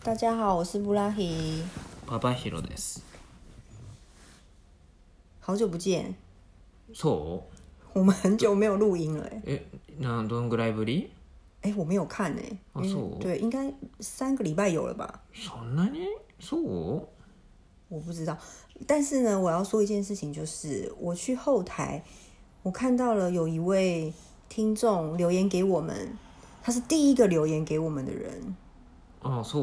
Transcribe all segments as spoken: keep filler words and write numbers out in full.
大家好，我是布拉希。 パパヒロです。 好久不见。 そう？ 我们很久没有录音了哎。 え、などんぐらいぶり？ 哎，我没有看哎。 あ、そう？ 对，应该三个礼拜有了吧？ そんなに？そう？ 我不知道，但是呢，我要说一件事情，就是我去后台，我看到了有一位听众留言给我们，他是第一个留言给我们的人。 あ、そう？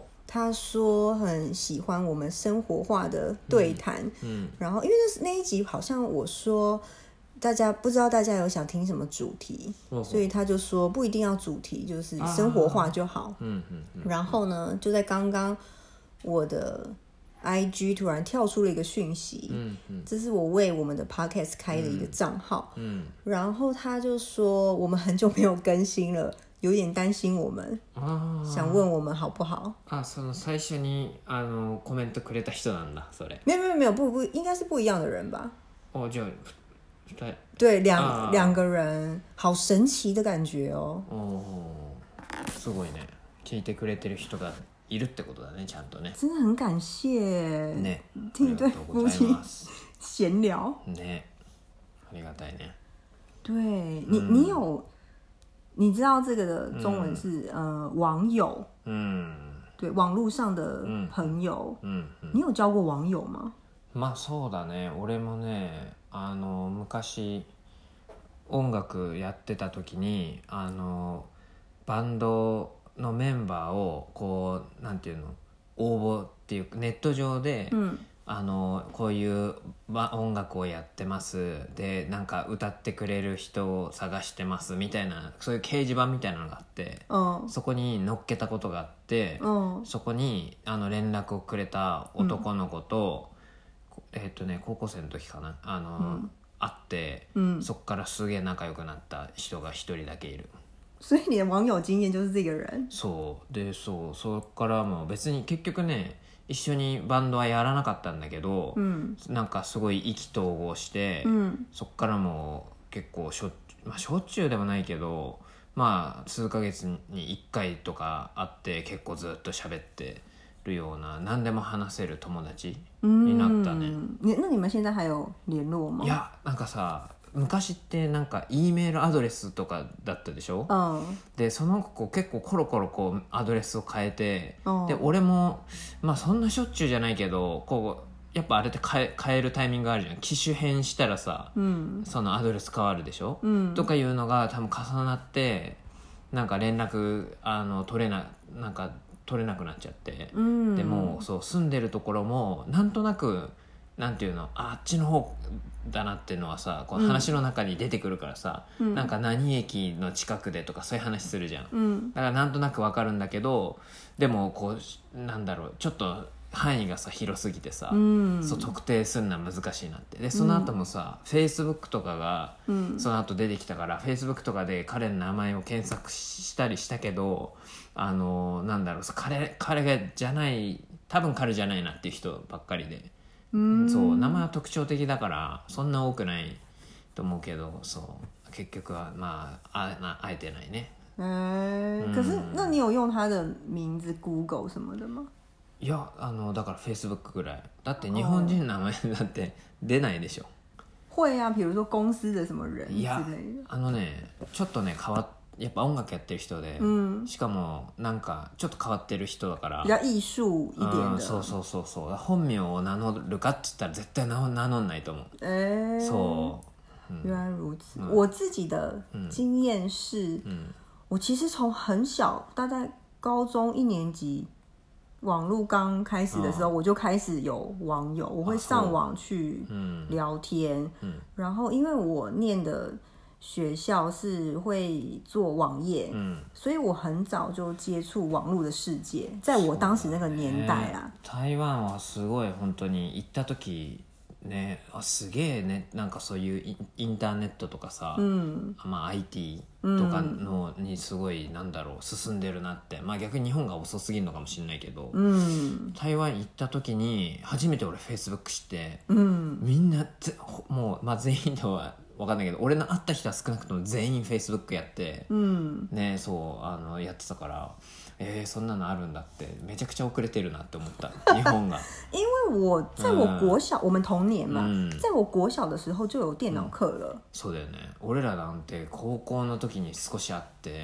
他说很喜欢我们生活化的对谈， 嗯，嗯然后因为那那一集好像我说大家不知道大家有想听什么主题， 哦、 所以他就说不一定要主题，就是生活化就好。 嗯嗯嗯。 然后呢，就在刚刚我的 I G 突然跳出了一个讯息， 嗯嗯， 这是我为我们的 Podcast 开的一个账号， 嗯， 然后他就说我们很久没有更新了。有点担心我们，想问我们好不好？ あ、その最初にあのコメントくれた人なんだ、それ。 没有没有没有不不，应该是不一样的人吧？ 哦，じゃあ二人。 对，两两个人，好神奇的感觉哦。 哦，すごいね。聞いてくれてる人がいるってことだね、ちゃんとね。 真的很感谢。 ね。 听一对夫妻闲聊。 ね。ありがたいね。 对你，你有。你知道这个的中文是、嗯、呃网友， 嗯， 对，网络上的朋友， 嗯嗯嗯、 你有交过网友吗？ まあそうだね。俺もね、あの昔音楽やってた時に、あのバンドのメンバーをこうなんていうの応募っていうネット上で。うんあのこういう音楽をやってますでなんか歌ってくれる人を探してますみたいなそういう掲示板みたいなのがあって、うん、そこに載っけたことがあって、うん、そこにあの連絡をくれた男の子と、うん、えーっとね高校生の時かなあの、うん、会って、うん、そこからすげえ仲良くなった人が一人だけいる。 所以你的网友经验就是这个人。 そうでそうそこからも別に結局ね一緒にバンドはやらなかったんだけど、うん、なんかすごい意気投合して、うん、そっからも結構しょっ、まあ、しょっちゅうでもないけどまあ数ヶ月にいっかいとか会って結構ずっと喋ってるような何でも話せる友達になったね。 那你们现在还有联络吗？ いやなんかさ昔ってなんか E メールアドレスとかだったでしょ、うん、でその子結構コロコロこうアドレスを変えて、うん、で俺もまあそんなしょっちゅうじゃないけどこうやっぱあれって変え、変えるタイミングがあるじゃん。機種変したらさ、うん、そのアドレス変わるでしょ、うん、とかいうのが多分重なってなんか連絡あの取れななんか取れなくなっちゃって、うん、でもそう住んでるところもなんとなくなんていうの あ, あっちの方だなっていうのはさこう話の中に出てくるからさ、うん、なんか何駅の近くでとかそういう話するじゃん、うん、だからなんとなく分かるんだけどでもこうなんだろうちょっと範囲がさ広すぎてさ、うん、そう特定するのは難しいなってでその後もさ、うん、Facebook とかがその後出てきたから、うん、Facebook とかで彼の名前を検索したりしたけどあのなんだろう彼、彼がじゃない多分彼じゃないなっていう人ばっかりでうんそう名前は特徴的だからそんな多くないと思うけどそう結局はまああ会えてないね。 えーうん、可是那你有用他的名字 Google 什么的吗？ いやあのだから Facebook ぐらいだって日本人の名前だって出ないでしょ。 会啊，比如说公司的什么人之类的。いやあのねちょっとね変わってやっぱ音楽やってる人で、うん、しかもなんかちょっと変わってる人だから比較艺術一点的、 うん、そうそうそうそう本名を名乗るかって言ったら絶対名乗んないと思う。 えー、 そう、 原来如此、うん、我自己的經驗是、嗯、我其實從很小大概高中一年級網絡剛開始的時候、哦、我就開始有網友我會上網去聊天、啊嗯、然後因為我念的學校是會做網頁、嗯、所以我很早就接觸網絡的世界在我當時那個年代啦、 ね、台灣はすごい本当に行った時ねあすげえねなんかそういうインターネットとかさ、うんまあ、アイティー とかのにすごいなんだろう進んでるなってまあ逆に日本が遅すぎるのかもしれないけど、うん、台湾行った時に初めて俺 Facebook 知って、うん、みんなもう、まあ、全員では分かんないけど俺の会った人は少なくとも全員 Facebook やって、うん、ねそうあのやってたからえー、そんなのあるんだってめちゃくちゃ遅れてるなって思った日本が因为我在我国小、嗯、我们同年嘛、 嗯、 在我国小的时候就有電腦課了、うん、 そうだよね。俺らなんて高校の時に少しあって、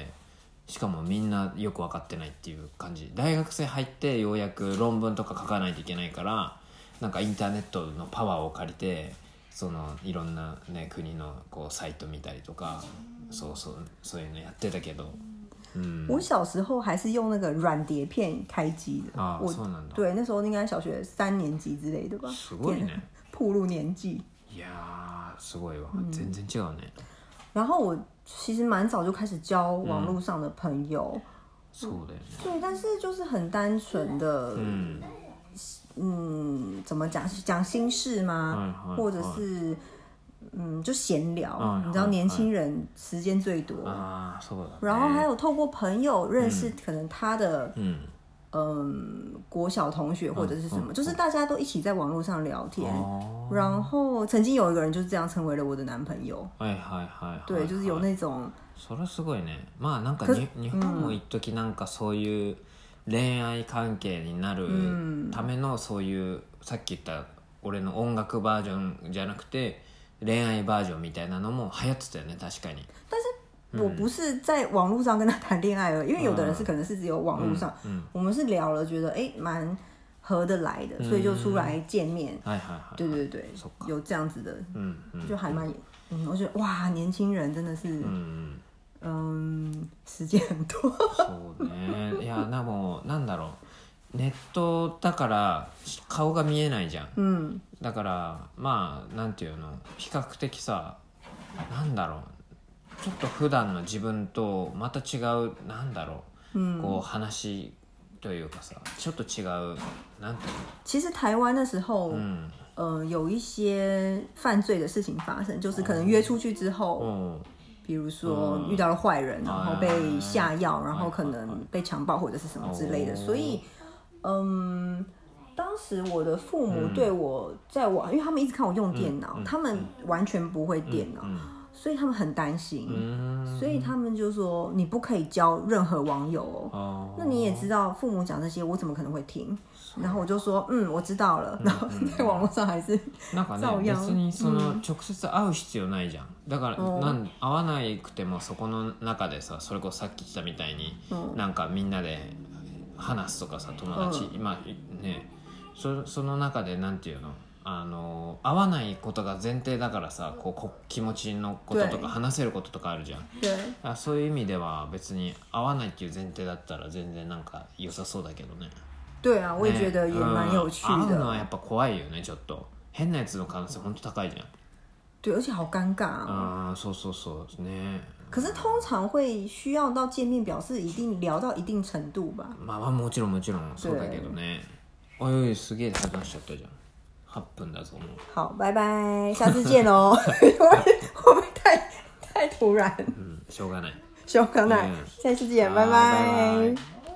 しかもみんなよく分かってないっていう感じ。大学生入ってようやく論文とか書かないといけないから、なんかインターネットのパワーを借りてそのいろんな、ね、国のこうサイト見たりとか、そうそうそういうのやってたけど、嗯、 我小时候还是用那个软碟片开机的啊， 我そうなんだ。 对，那时候应该小学三年级之类的吧。 すごいね。 暴露年纪。 いやーすごいわ、嗯、全然違うね。 然后我其实蛮早就开始交网络上的朋友。嗯、 そうだよね。 对，但是就是很单纯的，嗯嗯，怎么讲？讲心事吗？嗯、或者是。嗯，就闲聊、嗯，你知道年轻人时间最多啊， 然后还有透过朋友认识可能他的嗯嗯国小同学或者是什么、嗯，就是大家都一起在网络上聊天、哦，然后曾经有一个人就是这样成为了我的男朋友。 はいはいはい。 对，就是有那种。 それすごいね。まあなんかに日本も一時なんかそういう恋愛関係になるためのそういうさっき言った俺の音楽バージョンじゃなくて。恋愛バージョンみたいなのも流行ってたよね，確かに。 但是我不是在网络上跟他谈恋爱而已，因为有的人是可能是只有网络上，嗯嗯、我们是聊了，觉得哎蛮合得来的、嗯，所以就出来见面。嗯、对对对，有这样子的，嗯嗯、就还蛮，嗯，我觉得哇，年轻人真的是，嗯嗯，時間很多。 そうね。いやでもなんだろう。ネットだから顔が見えないじゃん、うん、だからまあなんていうの比較的さなんだろうちょっと普段の自分とまた違うなんだろう、うん、こう話というかさちょっと違うなんていうの其实台湾的时候、嗯呃、有一些犯罪的事情发生就是可能约出去之后、嗯比如说遇到了坏人、嗯、然后被下药、嗯、然后可能被强暴或者是什么之类的、哦、所以嗯，当时我的父母对我在网、嗯，因为他们一直看我用电脑、嗯嗯，他们完全不会电脑、嗯嗯，所以他们很担心、嗯，所以他们就说你不可以交任何网友哦。哦那你也知道，父母讲这些，我怎么可能会听？然后我就说，嗯，我知道了。然后在網絡上還是なんかね、別にその直接会う必要ないじゃん。だから、うん、なん会わなくてもそこの中でさ、それこそさっき言ったみたいに、うん、なんかみんなで話すとかさ友達、うん、今ね そ, その中でなんていうのあの会わないことが前提だからさこうこ気持ちのこととか話せることとかあるじゃん。あそういう意味では別に会わないっていう前提だったら全然なんか良さそうだけどね。 对啊，我也觉得也蛮有趣的。 会うのはやっぱ怖いよねちょっと変なやつの可能性本当高いじゃん。 对，而且好尴尬啊。 あそうそうそうね。 可是通常会需要到见面，表示一定聊到一定程度吧。 まあまあもちろんもちろんそうだけどね。おいおいすげえ話しちゃったじゃん。はっぷんだぞもう。 好，拜拜，下次见哦。会不会太太突然？ 嗯，しょうがない。 しょうがない。下次见，拜拜。